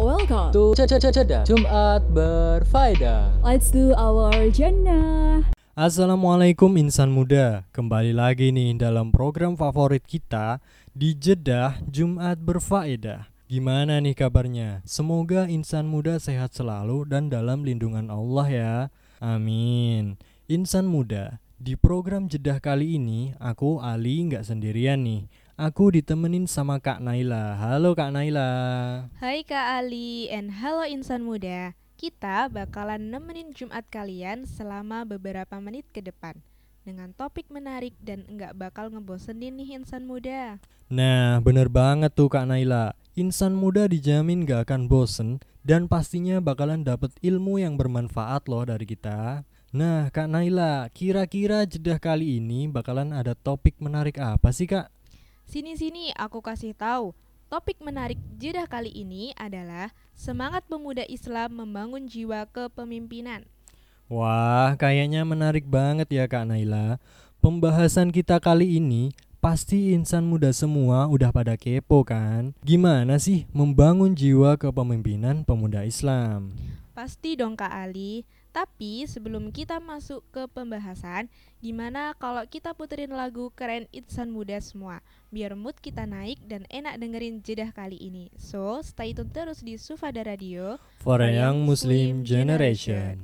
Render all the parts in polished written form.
welcome to Cedah Jumat Berfaedah. Let's do our Jannah. Assalamualaikum insan muda. Kembali lagi nih dalam program favorit kita di Jedah Jumat Berfaedah. Gimana nih kabarnya? Semoga insan muda sehat selalu dan dalam lindungan Allah ya. Amin. Insan muda, di program Jedah kali ini aku Ali nggak sendirian nih. Aku ditemenin sama Kak Naila. Halo Kak Naila. Hai Kak Ali, and halo insan muda. Kita bakalan nemenin Jumat kalian selama beberapa menit ke depan dengan topik menarik dan nggak bakal ngebosenin nih insan muda. Nah, bener banget tuh Kak Naila. Insan muda dijamin gak akan bosen dan pastinya bakalan dapet ilmu yang bermanfaat loh dari kita. Nah, Kak Naila, kira-kira Jedah kali ini bakalan ada topik menarik apa sih Kak? Sini aku kasih tahu. Topik menarik Jedah kali ini adalah semangat pemuda Islam membangun jiwa kepemimpinan. Wah, kayaknya menarik banget ya Kak Naila. Pembahasan kita kali ini pasti insan muda semua udah pada kepo kan? Gimana sih membangun jiwa kepemimpinan pemuda Islam? Pasti dong Kak Ali. Tapi sebelum kita masuk ke pembahasan, gimana kalau kita puterin lagu keren insan muda semua, biar mood kita naik dan enak dengerin Jedah kali ini. So, stay tune terus di Sufada Radio For a Young Muslim Generation.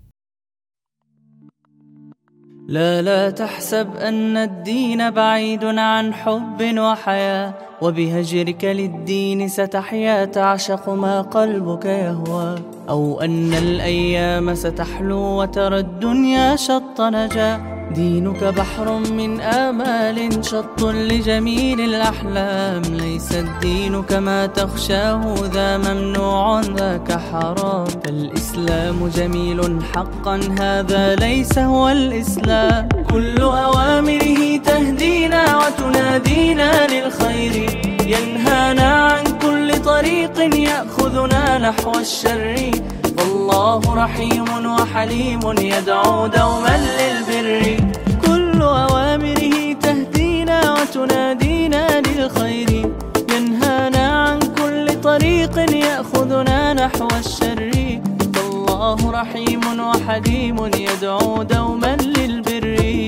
لا تحسب أن الدين بعيد عن حب وحياة وبهجرك للدين ستحيا تعشق ما قلبك يهوى أو أن الأيام ستحلو وترى الدنيا شط نجاة دينك بحر من آمال شط لجميل الأحلام ليس الدين كما تخشاه ذا ممنوع ذاك حرام فالإسلام جميل حقا هذا ليس هو الإسلام كل أوامره تهدينا وتنادينا للخير ينهانا عن كل طريق يأخذنا نحو الشر والله رحيم وحليم يدعو دوما للبر كل أوامره تهدينا وتنادينا للخير ينهانا عن كل طريق يأخذنا نحو الشر والله رحيم وحليم يدعو دوما للبر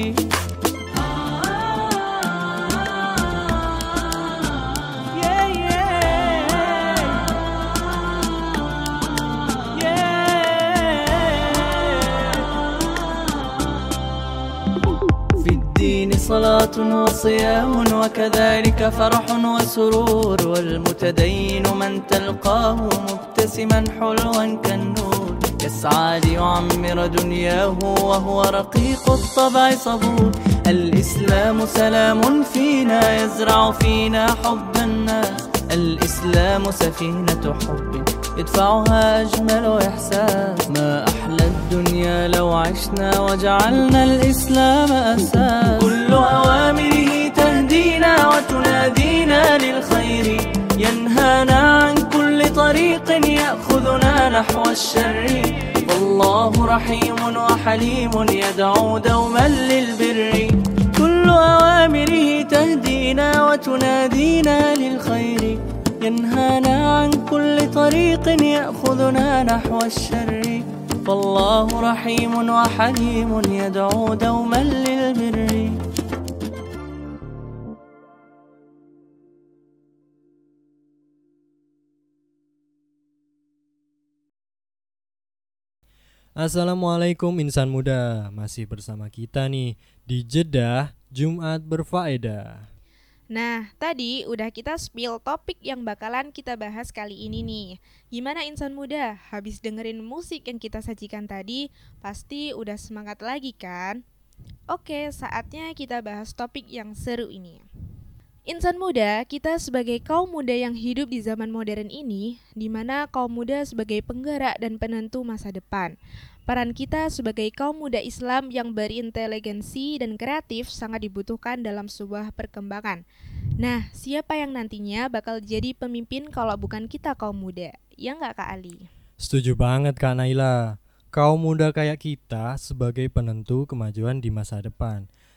صلاة وصيام وكذلك فرح وسرور والمتدين من تلقاه مبتسما حلوا كالنور يسعى ليعمر دنياه وهو رقيق الطبع صبور الإسلام سلام فينا يزرع فينا حب الناس الإسلام سفينة حب يدفعها أجمل إحساس ما أحلى الدنيا لو عشنا وجعلنا الإسلام أساس كل أوامره تهدينا وتنادينا للخير ينهانا عن كل طريق يأخذنا نحو الشر والله رحيم وحليم يدعو دوما للبر كل أوامره تهدينا وتنادينا للخير ينهانا عن كل طريق يأخذنا نحو الشر فالله رحيم وحليم يدعو دوما للبر Assalamualaikum insan muda. Masih bersama kita nih di Jedah Jumat Berfaedah. Nah, tadi udah kita spill topik yang bakalan kita bahas kali ini nih. Gimana insan muda? Habis dengerin musik yang kita sajikan tadi, pasti udah semangat lagi kan? Oke, saatnya kita bahas topik yang seru ini. Insan muda, kita sebagai kaum muda yang hidup di zaman modern ini, di mana kaum muda sebagai penggerak dan penentu masa depan. Peran kita sebagai kaum muda Islam yang berinteligensi dan kreatif sangat dibutuhkan dalam sebuah perkembangan. Nah, siapa yang nantinya bakal jadi pemimpin kalau bukan kita kaum muda? Ya nggak Kak Ali? Setuju banget Kak Naila. Kaum muda kayak kita sebagai penentu kemajuan di masa depan.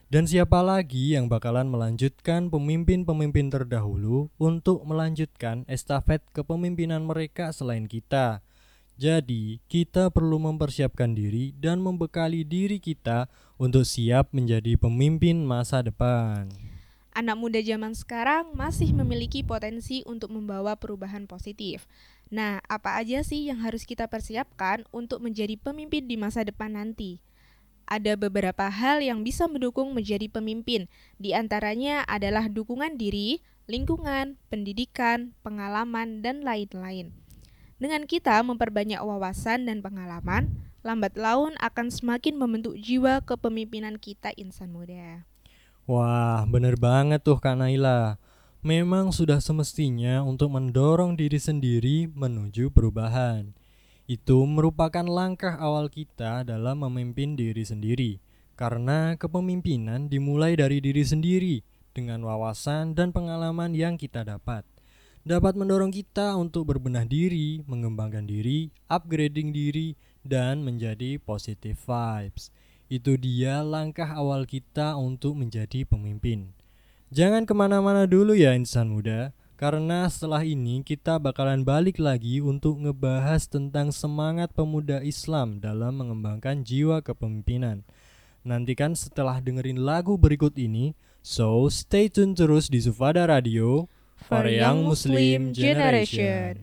Dan siapa lagi yang bakalan melanjutkan pemimpin-pemimpin terdahulu untuk melanjutkan estafet kepemimpinan mereka selain kita? Jadi, kita perlu mempersiapkan diri dan membekali diri kita untuk siap menjadi pemimpin masa depan. Anak muda zaman sekarang masih memiliki potensi untuk membawa perubahan positif. Nah, apa aja sih yang harus kita persiapkan untuk menjadi pemimpin di masa depan nanti? Ada beberapa hal yang bisa mendukung menjadi pemimpin. Di antaranya adalah dukungan diri, lingkungan, pendidikan, pengalaman, dan lain-lain. Dengan kita memperbanyak wawasan dan pengalaman, lambat laun akan semakin membentuk jiwa kepemimpinan kita insan muda. Wah, bener banget tuh Kak Naila. Memang sudah semestinya untuk mendorong diri sendiri menuju perubahan. Itu merupakan langkah awal kita dalam memimpin diri sendiri. Karena kepemimpinan dimulai dari diri sendiri dengan wawasan dan pengalaman yang kita dapat. Dapat mendorong kita untuk berbenah diri, mengembangkan diri, upgrading diri, dan menjadi positive vibes. Itu dia langkah awal kita untuk menjadi pemimpin. Jangan kemana-mana dulu ya insan muda, karena setelah ini kita bakalan balik lagi untuk ngebahas tentang semangat pemuda Islam dalam mengembangkan jiwa kepemimpinan. Nantikan setelah dengerin lagu berikut ini, so stay tune terus di Sufada Radio for a Young Muslim Generation.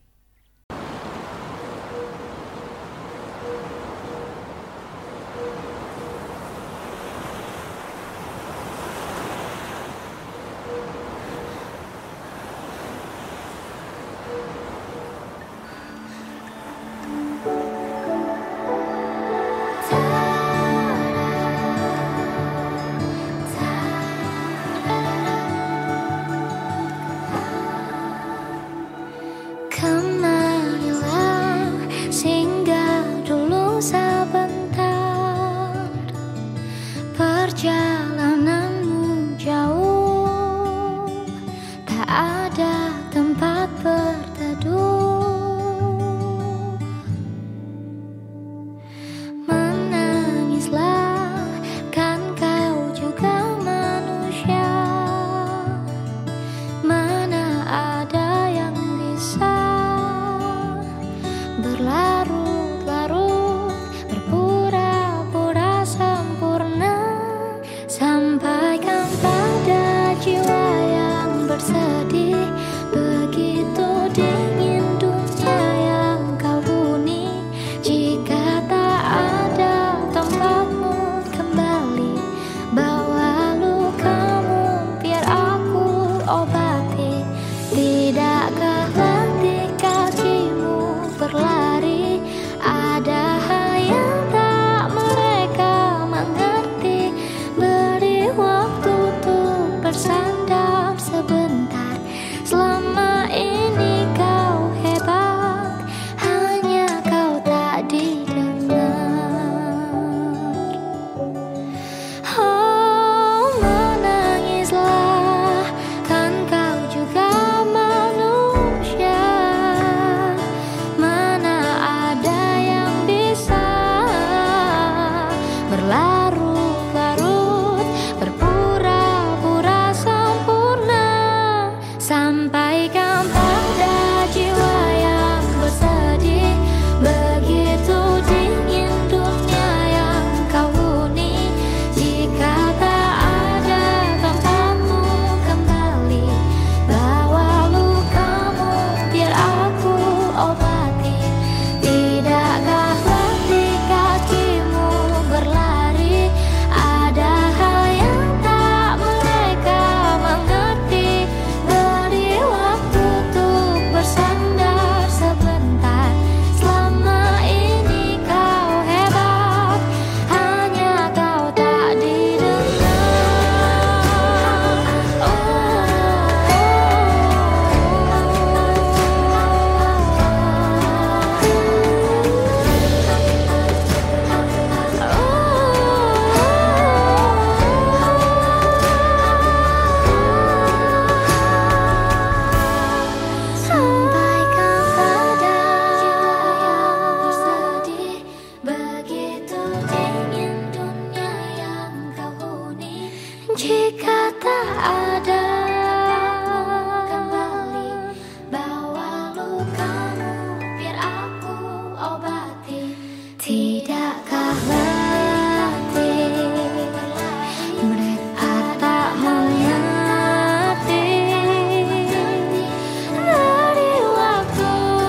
Kemarilah singgah dulu sebentar, perjalananmu jauh, tak ada tempat berteduh. Menangislah, kan kau juga manusia. Mana ada yang bisa berlarut-larut, berpura-pura sempurna. Sampaikan pada jiwa yang bersedih, begitu lukamu biar aku obati. Tidakkah letih mereka tak mengerti dari waktu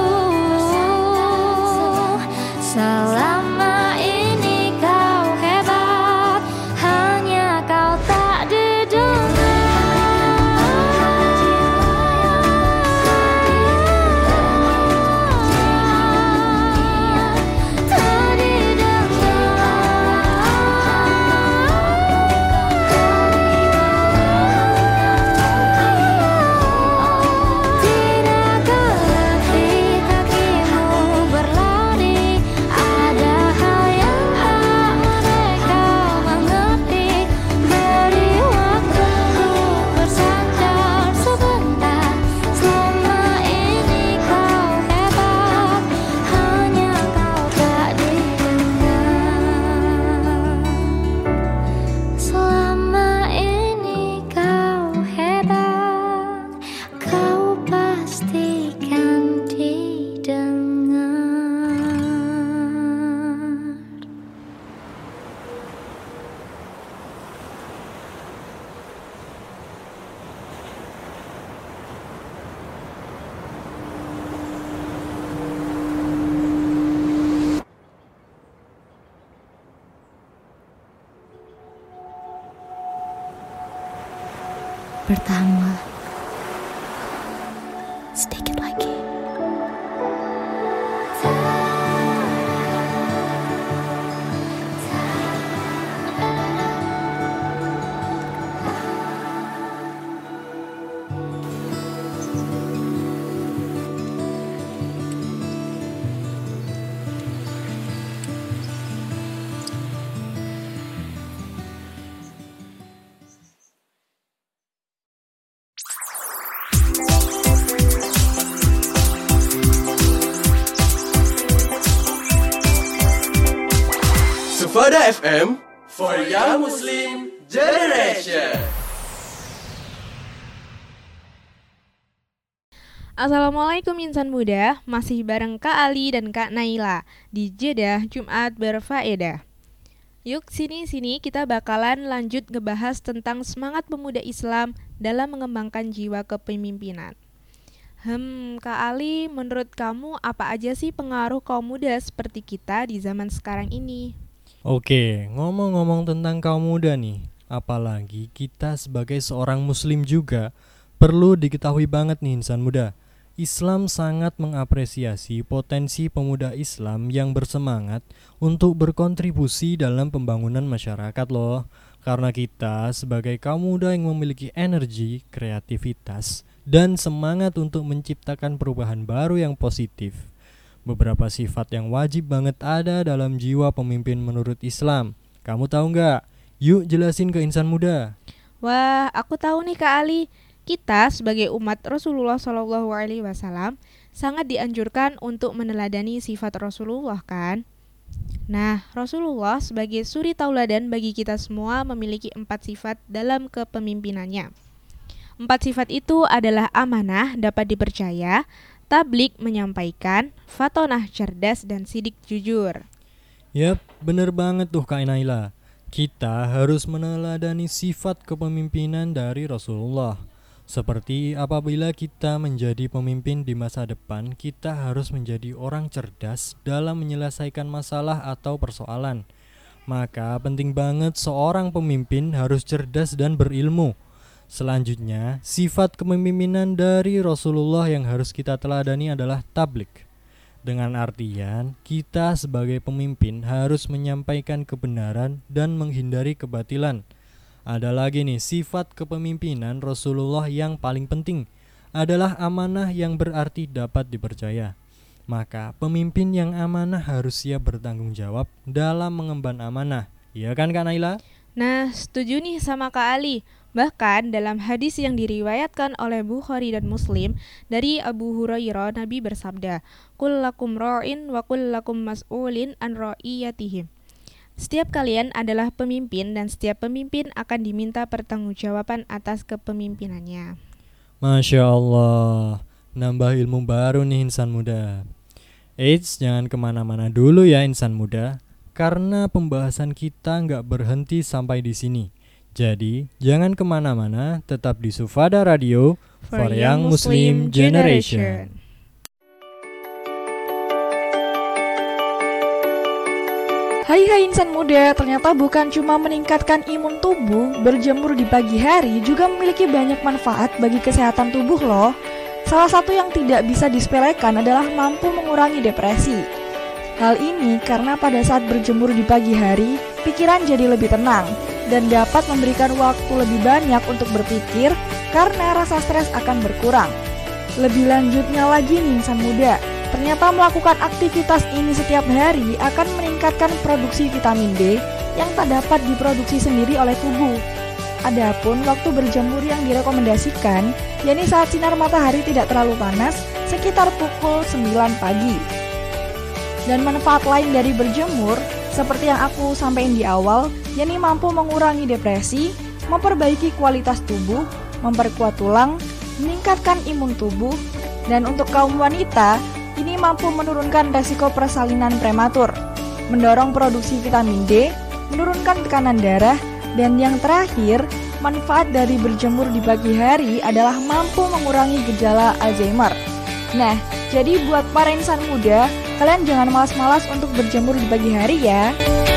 selama ini kau hebat, hanya kau tak didengar. Tak didengar. Tidakkah letih kakimu berlari, ada hal yang tak mereka mengerti. Beri waktu bersandar sebentar, selama ini kau hebat, hanya kau tak didengar. Selama ini kau hebat, kau pastikan didengar. Bertahanlah sedikit lagi. Sufada FM for Young Muslim Generation. Assalamualaikum insan muda, masih bareng Kak Ali dan Kak Naila di Jeddah Jumat Berfaedah. Yuk sini kita bakalan lanjut ngebahas tentang semangat pemuda Islam dalam mengembangkan jiwa kepemimpinan. Kak Ali, menurut kamu apa aja sih pengaruh kaum muda seperti kita di zaman sekarang ini? Oke, ngomong-ngomong tentang kaum muda nih, apalagi kita sebagai seorang muslim juga perlu diketahui banget nih insan muda. Islam sangat mengapresiasi potensi pemuda Islam yang bersemangat untuk berkontribusi dalam pembangunan masyarakat loh. Karena kita sebagai kaum muda yang memiliki energi, kreativitas, dan semangat untuk menciptakan perubahan baru yang positif. Beberapa sifat yang wajib banget ada dalam jiwa pemimpin menurut Islam. Kamu tahu nggak? Yuk jelasin ke insan muda. Wah, aku tahu nih Kak Ali. Kita sebagai umat Rasulullah SAW sangat dianjurkan untuk meneladani sifat Rasulullah kan? Nah, Rasulullah sebagai suri tauladan bagi kita semua memiliki 4 sifat dalam kepemimpinannya. 4 sifat itu adalah amanah, dapat dipercaya, tablik menyampaikan, fatonah cerdas, dan sidik jujur. Yap, bener banget tuh Kak Naila. Kita harus meneladani sifat kepemimpinan dari Rasulullah. Seperti apabila kita menjadi pemimpin di masa depan, kita harus menjadi orang cerdas dalam menyelesaikan masalah atau persoalan. Maka penting banget seorang pemimpin harus cerdas dan berilmu. Selanjutnya, sifat kepemimpinan dari Rasulullah yang harus kita teladani adalah tablik. Dengan artian, kita sebagai pemimpin harus menyampaikan kebenaran dan menghindari kebatilan. Ada lagi nih, sifat kepemimpinan Rasulullah yang paling penting adalah amanah yang berarti dapat dipercaya. Maka pemimpin yang amanah harus siap bertanggung jawab dalam mengemban amanah. Iya kan Kak Naila? Nah, setuju nih sama Kak Ali. Bahkan dalam hadis yang diriwayatkan oleh Bukhari dan Muslim dari Abu Hurairah, Nabi bersabda, "Kullakum ra'in wa kullakum mas'ulin an ra'iyatihim." Setiap kalian adalah pemimpin dan setiap pemimpin akan diminta pertanggungjawaban atas kepemimpinannya. Masya Allah. nambah ilmu baru nih insan muda. Eits, jangan kemana-mana dulu ya insan muda, karena pembahasan kita nggak berhenti sampai di sini. Jadi, jangan kemana-mana, tetap di Sufada Radio for Young Muslim Generation. Hai insan muda, ternyata bukan cuma meningkatkan imun tubuh, berjemur di pagi hari juga memiliki banyak manfaat bagi kesehatan tubuh loh. Salah satu yang tidak bisa disepelekan adalah mampu mengurangi depresi. Hal ini karena pada saat berjemur di pagi hari, pikiran jadi lebih tenang dan dapat memberikan waktu lebih banyak untuk berpikir karena rasa stres akan berkurang. Lebih lanjutnya lagi nih insan muda, ternyata melakukan aktivitas ini setiap hari akan meningkatkan produksi vitamin D yang tak dapat diproduksi sendiri oleh tubuh. Adapun waktu berjemur yang direkomendasikan, yakni saat sinar matahari tidak terlalu panas, sekitar pukul 9 pagi. Dan manfaat lain dari berjemur, seperti yang aku sampaikan di awal, yakni mampu mengurangi depresi, memperbaiki kualitas tubuh, memperkuat tulang, meningkatkan imun tubuh, dan untuk kaum wanita, ini mampu menurunkan resiko persalinan prematur, mendorong produksi vitamin D, menurunkan tekanan darah, dan yang terakhir, manfaat dari berjemur di pagi hari adalah mampu mengurangi gejala Alzheimer. Nah, jadi buat para insan muda, kalian jangan malas-malas untuk berjemur di pagi hari ya.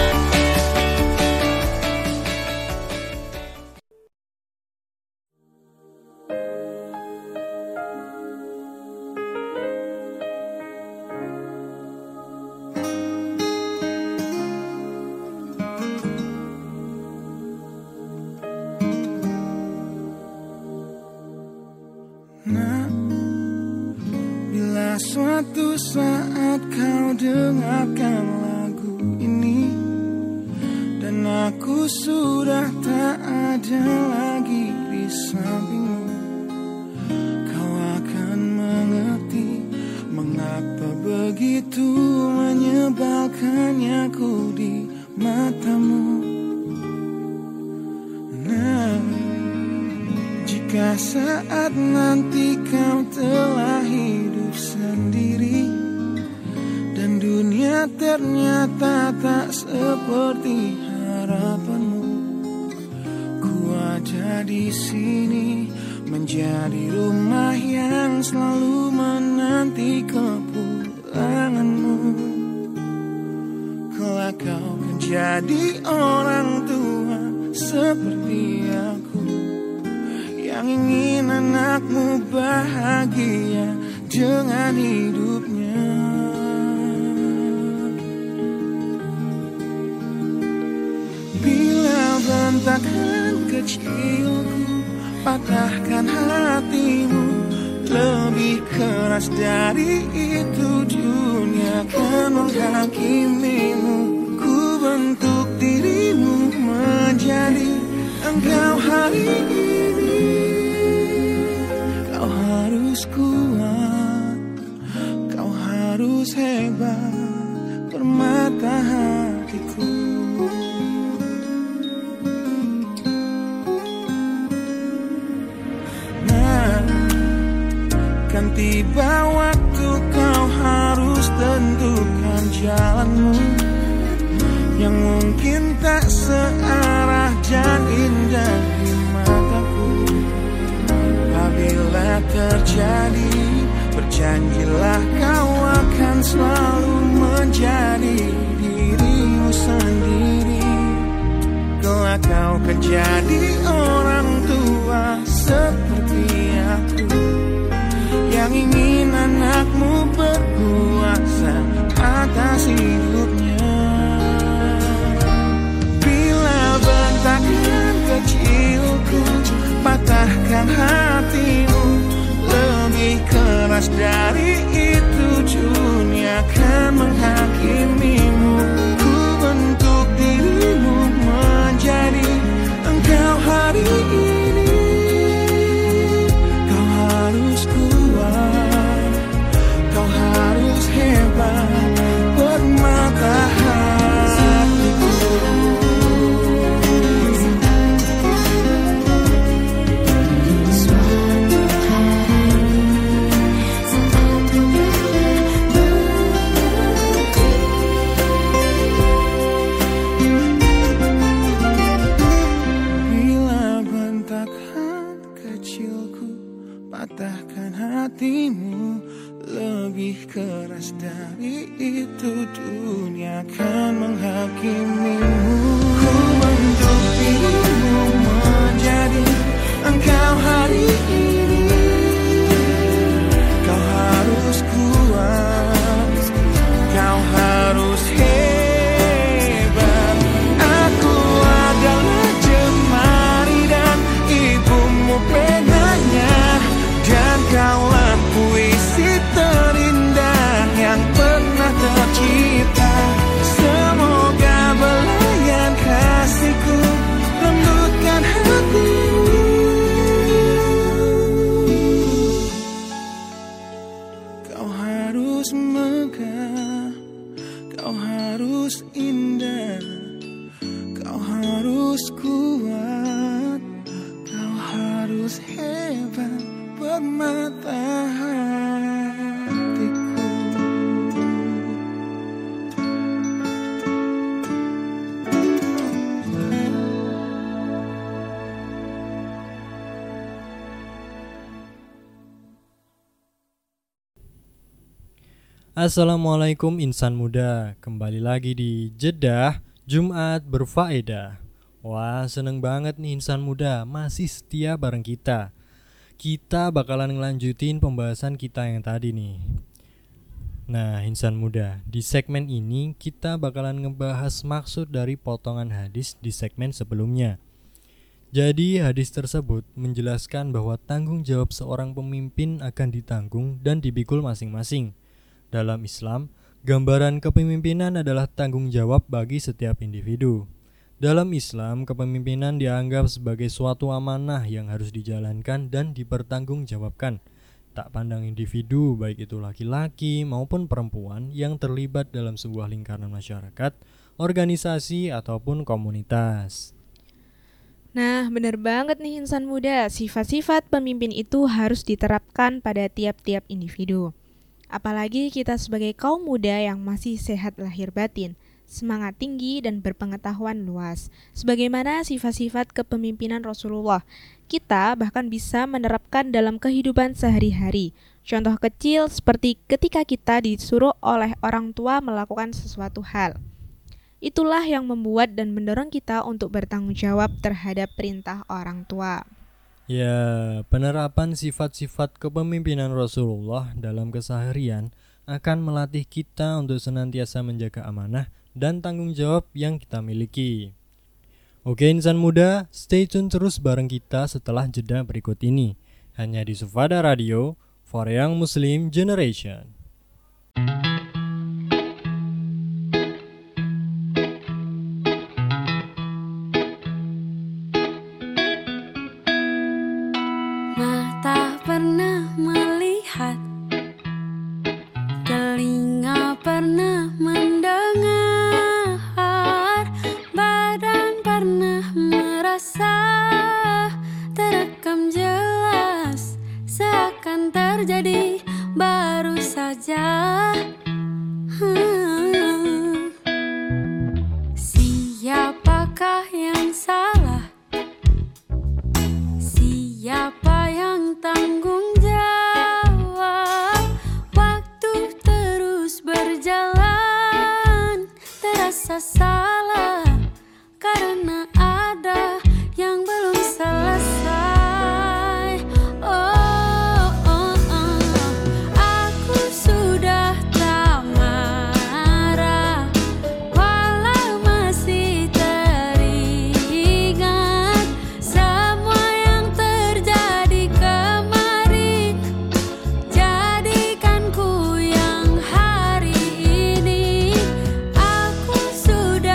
Suatu saat kau dengarkan lagu ini, dan aku sudah tak ada lagi di sampingmu, kau akan mengerti mengapa begitu menyebalkannya ku di matamu. Nah, jika saat nanti kau telah hidup sendiri dan dunia ternyata tak seperti harapanmu, ku ada di sini menjadi rumah yang selalu menanti kepulanganmu. Kelak kau kan jadi orang tua seperti aku, yang ingin anakmu bahagia dengan hidupnya. Bila bentakan kecilku patahkan hatimu, lebih keras dari itu dunia akan menghakimimu. Ku bentuk dirimu menjadi engkau hari ini. Kau harus kuat, kau harus hebat, permata hatiku. Nah, kan tiba waktu kau harus tentukan jalanmu, yang mungkin tak searah dan indah di mataku. Apabila terjadi, berjanjilah kau akan selalu menjadi dirimu sendiri. Kelak kau akan jadi orang tua seperti aku, yang ingin anakmu berkuasa atas hidupnya. Bila bentakan kecilku patahkan hatimu, lebih keras dari itu dunia akan menghakimimu. Ku bentuk dirimu menjadi engkau hari ini. Kau harus kuat, kau harus hebat, permata hatiku. lebih keras dari itu, dunia akan menghakimimu. Ku bentuk dirimu menjadi engkau hari ini. Kau harus kuat, kau harus hebat. Aku adalah jemari dan ibumu penanya, dan kaulah puisi terindah yang pernah tercipta. Semoga belayan kasihku lembutkan hatimu. Kau harus megah, kau harus indah, kau harus kuat, kau harus hebat, permata hatiku. Assalamualaikum insan muda, kembali lagi di Jeddah Jumat Berfaedah. Wah, seneng banget nih insan muda masih setia bareng kita. Kita bakalan ngelanjutin pembahasan kita yang tadi nih. Nah insan muda, di segmen ini kita bakalan ngebahas maksud dari potongan hadis di segmen sebelumnya. Jadi hadis tersebut menjelaskan bahwa tanggung jawab seorang pemimpin akan ditanggung dan dipikul masing-masing. Dalam Islam, gambaran kepemimpinan adalah tanggung jawab bagi setiap individu. Dalam Islam, kepemimpinan dianggap sebagai suatu amanah yang harus dijalankan dan dipertanggungjawabkan. Tak pandang individu, baik itu laki-laki maupun perempuan yang terlibat dalam sebuah lingkaran masyarakat, organisasi ataupun komunitas. Nah, benar banget nih insan muda, sifat-sifat pemimpin itu harus diterapkan pada tiap-tiap individu. Apalagi kita sebagai kaum muda yang masih sehat lahir batin, semangat tinggi dan berpengetahuan luas. Sebagaimana sifat-sifat kepemimpinan Rasulullah, kita bahkan bisa menerapkan dalam kehidupan sehari-hari. Contoh kecil seperti ketika kita disuruh oleh orang tua melakukan sesuatu hal. Itulah yang membuat dan mendorong kita untuk bertanggung jawab terhadap perintah orang tua. Ya, penerapan sifat-sifat kepemimpinan Rasulullah dalam keseharian akan melatih kita untuk senantiasa menjaga amanah dan tanggung jawab yang kita miliki. Oke insan muda, stay tune terus bareng kita setelah jeda berikut ini. Hanya di Sufada Radio, for Young Muslim Generation. Mata pernah melihat, telinga pernah mendengar, badan pernah merasa, terekam jelas, seakan terjadi baru saja. Siapakah yang salah? Siapa yang tanggung jawab? Waktu terus berjalan, terasa salah karena ada yang belum selesai. Aku sudah tak marah, walau masih teringat semua yang terjadi kemarin. Jadikan ku yang hari ini. Aku sudah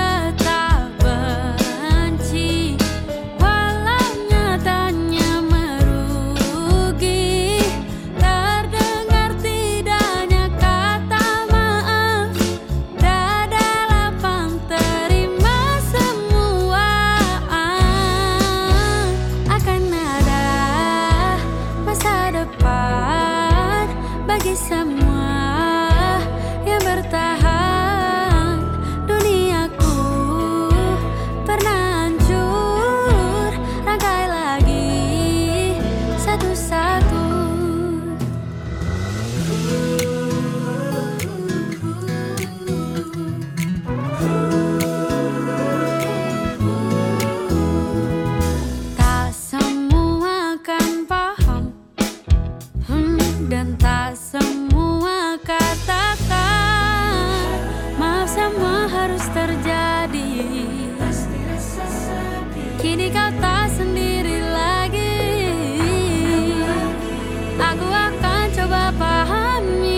terjadi. Kini kau tak sendiri lagi. Aku akan coba pahami.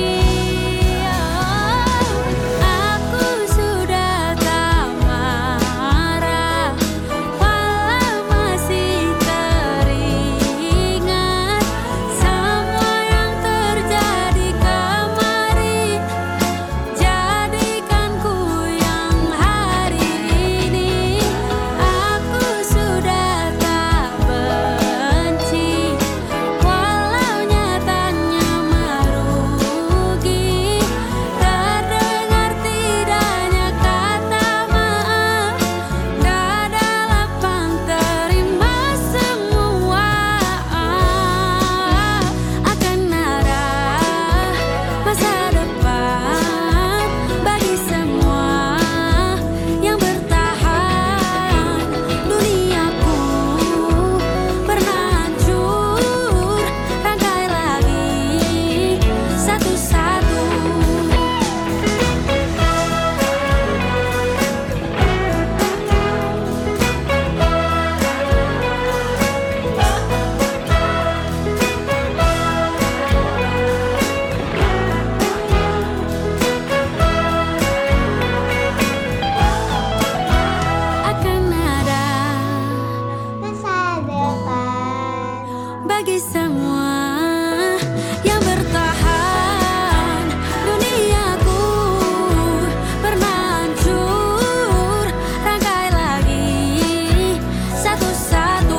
Aku sudah tak marah, walau masih teringat semua yang terjadi kemarin. Jadikan ku yang hari ini. Aku sudah tak benci, walau nyatanya merugi. Terdengar tidaknya kata maaf, dada lapang terima semua. Akan ada masa depan bagi semua yang bertahan. Duniaku pernah hancur, rangkai lagi satu-satu. Akan ada masa depan bagi semua yang bertahan. Duniaku pernah hancur, rangkai lagi satu-satu.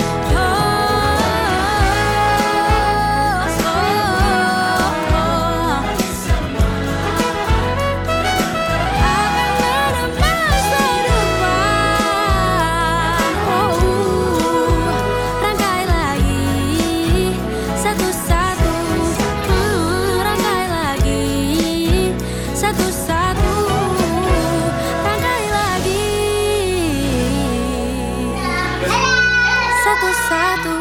Rangkai lagi satu-satu, rangkai lagi satu-satu, rangkai lagi satu-satu.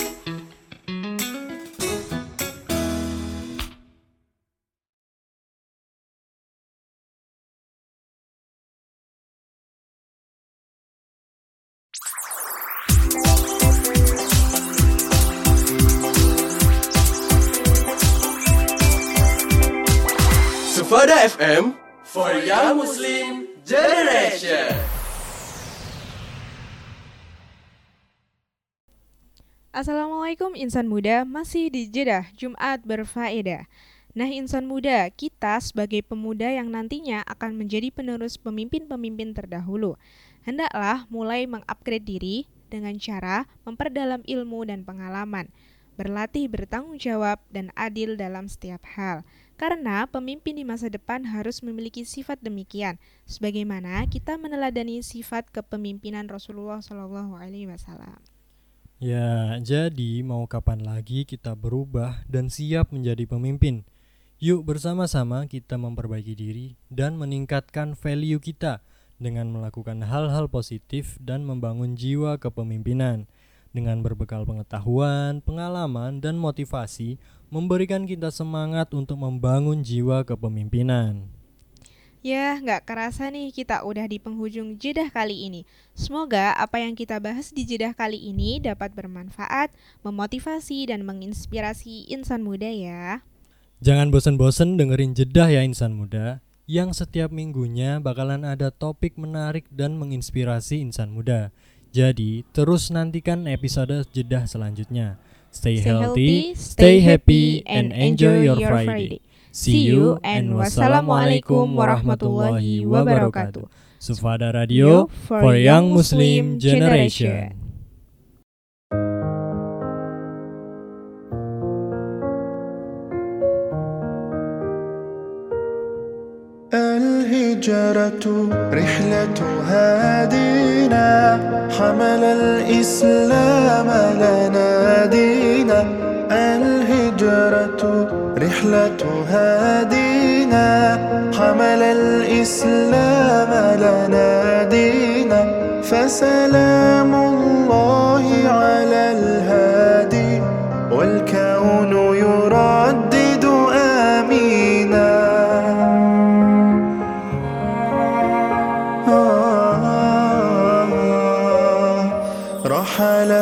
Sufada FM for Young Muslim Generation. Assalamualaikum insan muda, masih di Jeddah Jumat Berfaedah. Nah insan muda, kita sebagai pemuda yang nantinya akan menjadi penerus pemimpin-pemimpin terdahulu, hendaklah mulai mengupgrade diri dengan cara memperdalam ilmu dan pengalaman, berlatih bertanggung jawab dan adil dalam setiap hal. Karena pemimpin di masa depan harus memiliki sifat demikian, sebagaimana kita meneladani sifat kepemimpinan Rasulullah SAW. Ya, jadi mau kapan lagi kita berubah dan siap menjadi pemimpin? Yuk bersama-sama kita memperbaiki diri dan meningkatkan value kita dengan melakukan hal-hal positif dan membangun jiwa kepemimpinan. Dengan berbekal pengetahuan, pengalaman, dan motivasi, memberikan kita semangat untuk membangun jiwa kepemimpinan. Ya, nggak kerasa nih kita udah di penghujung Jeddah kali ini. Semoga apa yang kita bahas di Jeddah kali ini dapat bermanfaat, memotivasi, dan menginspirasi insan muda ya. Jangan bosan-bosan dengerin Jeddah ya insan muda, yang setiap minggunya bakalan ada topik menarik dan menginspirasi insan muda. Jadi, terus nantikan episode Jeddah selanjutnya. Stay healthy, stay happy, and enjoy your Friday. See you and wassalamualaikum warahmatullahi wabarakatuh. Sufada Radio for Young Muslim Generation. الهجرة رحلة هادينا حمل الإسلام لنا دينا الهجرة رحلة هادينا حمل الإسلام لنا دينا فسلام الله على الهادي والكون يردد آمينا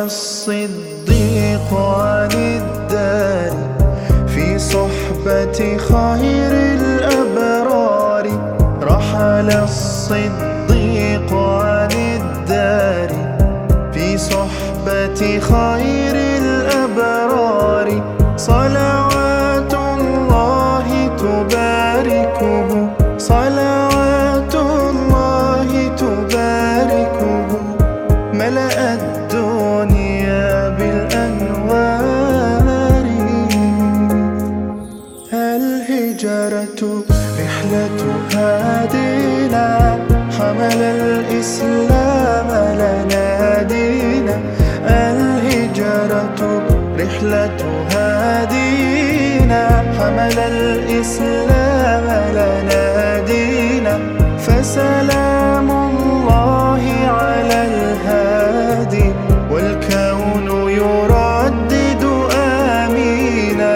الصديق عن الدار في صحبة خير الأبرار رحل الصديق عن الدار في صحبة خير الأبرار صلوات الله تباركه صلوات الله تباركه ملأ الدنيا بالأنوار الهجرة رحلة هادينا حمل الإسلام لنا دينا الهجرة رحلة هادينا حمل الإسلام لنا دينا فسلام الله على الهادي والكون يردد آمينا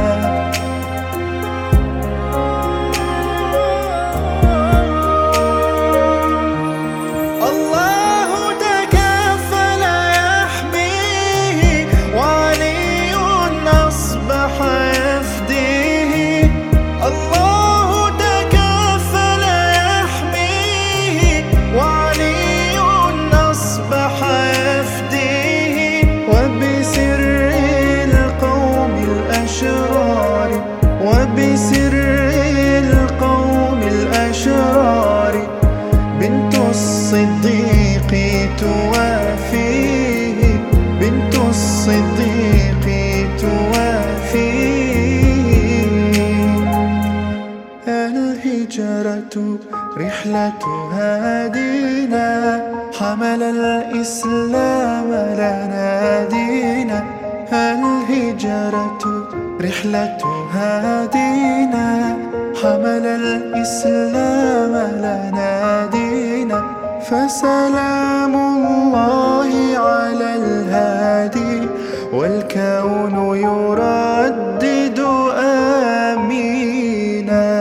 الله تكفل يحميه وعلي أصبح يفديه الله تكفل يحميه وعلي أصبح يفديه وبسر القوم الأشرار وبسر القوم الأشرار بنت الصديق توافيه بنت الصديق توافيه الهجرة رحلة هادينا حمل الإسلام لنا دينا الهجرة رحلة هادينا حمل الإسلام لنا دينا فسلام الله على الهادي والكون يردد آمينا